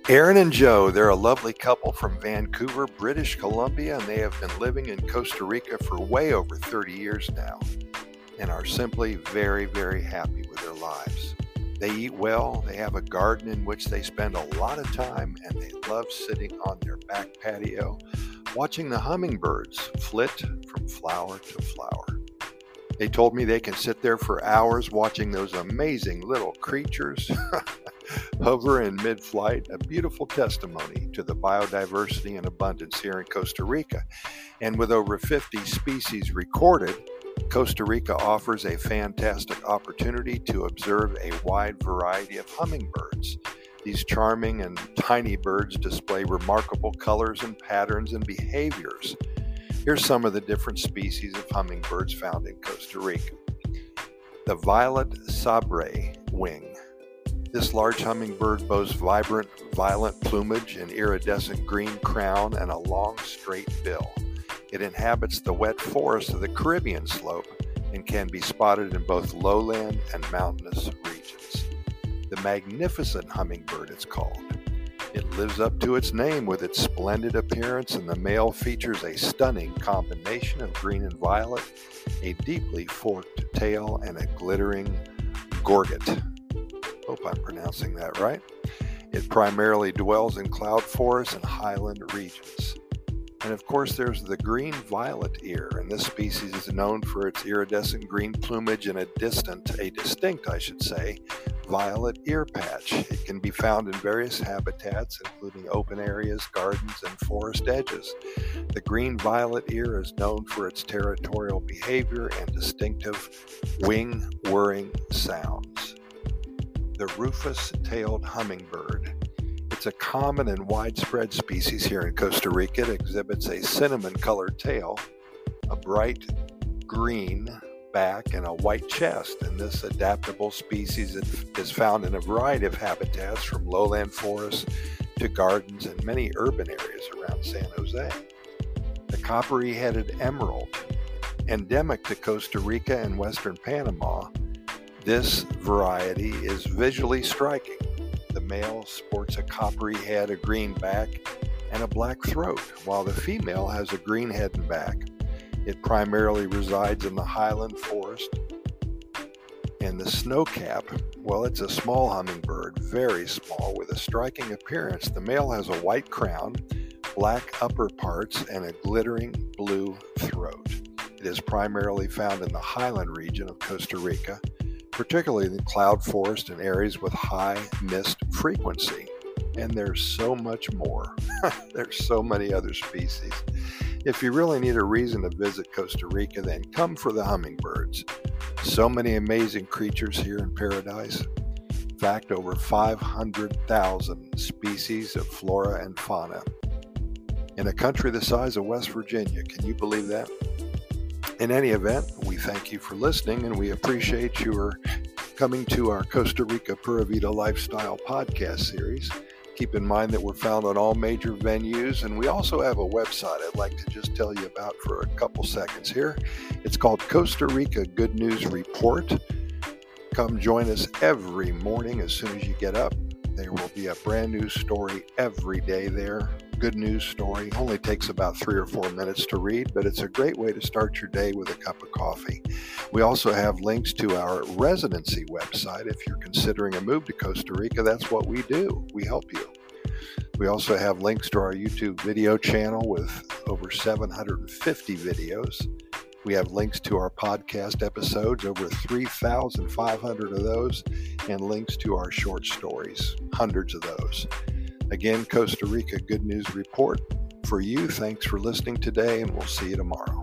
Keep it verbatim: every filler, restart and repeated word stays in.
Aaron and Joe, they're a lovely couple from Vancouver, British Columbia, and they have been living in Costa Rica for way over thirty years now and are simply very, very happy with their lives. They eat well, they have a garden in which they spend a lot of time, and they love sitting on their back patio watching the hummingbirds flit from flower to flower. They told me they can sit there for hours watching those amazing little creatures hover in mid-flight, a beautiful testimony to the biodiversity and abundance here in Costa Rica. And with over fifty species recorded, Costa Rica offers a fantastic opportunity to observe a wide variety of hummingbirds. These charming and tiny birds display remarkable colors and patterns and behaviors. Here's some of the different species of hummingbirds found in Costa Rica. The violet sabre wing. This large hummingbird boasts vibrant violet plumage, an iridescent green crown, and a long, straight bill. It inhabits the wet forests of the Caribbean slope and can be spotted in both lowland and mountainous regions. The magnificent hummingbird, it's called. It lives up to its name with its splendid appearance, and the male features a stunning combination of green and violet, a deeply forked tail, and a glittering gorget. Hope I'm pronouncing that right. It primarily dwells in cloud forests and highland regions. And of course, there's the green violet ear, and this species is known for its iridescent green plumage and a distant, a distinct, I should say, violet ear patch. It can be found in various habitats, including open areas, gardens, and forest edges. The green violet ear is known for its territorial behavior and distinctive wing whirring sounds. The rufous-tailed hummingbird. It's a common and widespread species here in Costa Rica. It exhibits a cinnamon-colored tail, a bright green back, and a white chest. And this adaptable species is found in a variety of habitats, from lowland forests to gardens and many urban areas around San Jose. The coppery-headed emerald, endemic to Costa Rica and western Panama. This variety is visually striking. The male sports a coppery head, a green back, and a black throat, while the female has a green head and back. It primarily resides in the highland forest. And the snowcap, well, it's a small hummingbird, very small, with a striking appearance. The male has a white crown, black upper parts, and a glittering blue throat. It is primarily found in the highland region of Costa Rica, particularly in the cloud forest and areas with high mist frequency. And there's so much more. There's so many other species. If you really need a reason to visit Costa Rica, then come for the hummingbirds. So many amazing creatures here in paradise. In fact, over five hundred thousand species of flora and fauna. In a country the size of West Virginia, can you believe that? In any event, we thank you for listening, and we appreciate your coming to our Costa Rica Pura Vida Lifestyle podcast series. Keep in mind that we're found on all major venues, and we also have a website I'd like to just tell you about for a couple seconds here. It's called Costa Rica Good News Report. Come join us every morning as soon as you get up. There will be a brand new story every day there. Good news story. Only takes about three or four minutes to read, but it's a great way to start your day with a cup of coffee. We also have links to our residency website. If you're considering a move to Costa Rica, that's what we do. We help you. We also have links to our YouTube video channel with over seven hundred fifty videos. We have links to our podcast episodes, over three thousand five hundred of those, and links to our short stories, hundreds of those. Again, Costa Rica Good News Report. For you, thanks for listening today, and we'll see you tomorrow.